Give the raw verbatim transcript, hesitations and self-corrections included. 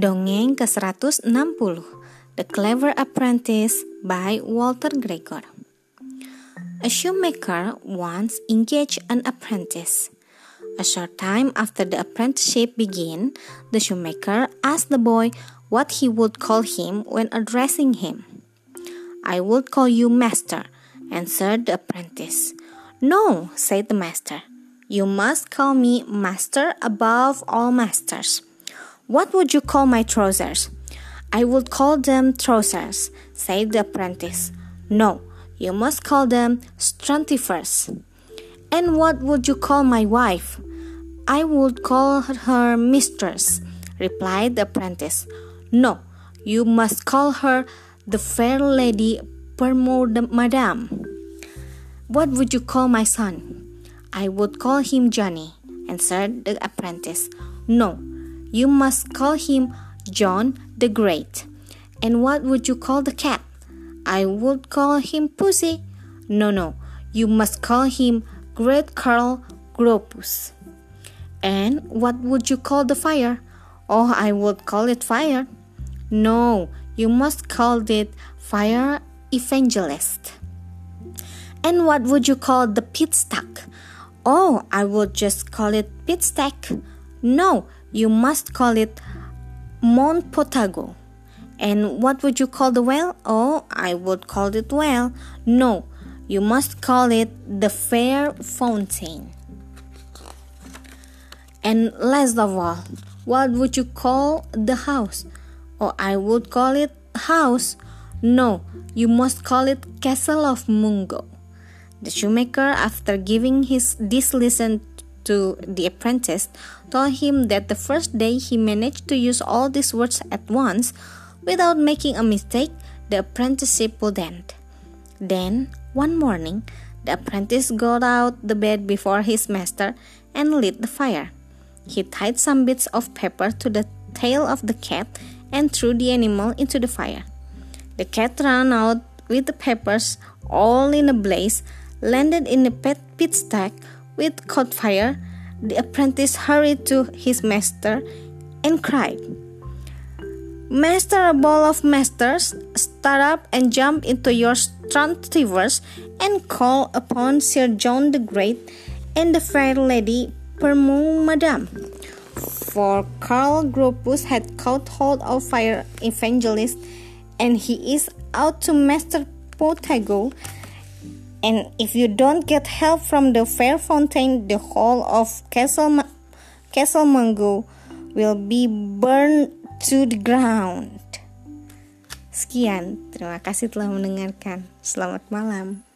Dongeng ke seratus enam puluh, The Clever Apprentice by Walter Gregor. A shoemaker once engaged an apprentice. A short time after the apprenticeship began, the shoemaker asked the boy what he would call him when addressing him. "I would call you master," answered the apprentice. "No," said the master. "You must call me master above all masters." "What would you call my trousers?" "I would call them trousers," said the apprentice. "No, you must call them strontifers." "And what would you call my wife?" "I would call her mistress," replied the apprentice. "No, you must call her the fair lady Permadam." "What would you call my son?" "I would call him Johnny," answered the apprentice. "No, you must call him John the Great." "And what would you call the cat?" "I would call him Pussy." "No, no, you must call him Great Carl Gropus." "And what would you call the fire?" "Oh, I would call it fire." "No, you must call it Fire Evangelist." "And what would you call the pit stack?" "Oh, I would just call it pit stack." "No, you must call it Mount Potago." "And what would you call the well?" "Oh, I would call it well." "No, you must call it the Fair Fountain." "And last of all, what would you call the house?" "Oh, I would call it house." "No, you must call it Castle of Mungo." The shoemaker, after giving his this lesson to the apprentice, told him that the first day he managed to use all these words at once without making a mistake, the apprenticeship would end. Then, one morning, the apprentice got out the bed before his master and lit the fire. He tied some bits of paper to the tail of the cat and threw the animal into the fire. The cat ran out with the papers all in a blaze, landed in a pit pit stack, with caught fire. The apprentice hurried to his master and cried, "Master of all of masters, start up and jump into your strontivers and call upon Sir John the Great and the fair lady Permadam." For Carl Gropus had caught hold of Fire Evangelist, and he is out to Master Potago. And if you don't get help from the Fair Fountain, the whole of Castle Ma- Castle Mungo will be burned to the ground. Sekian, terima kasih telah mendengarkan. Selamat malam.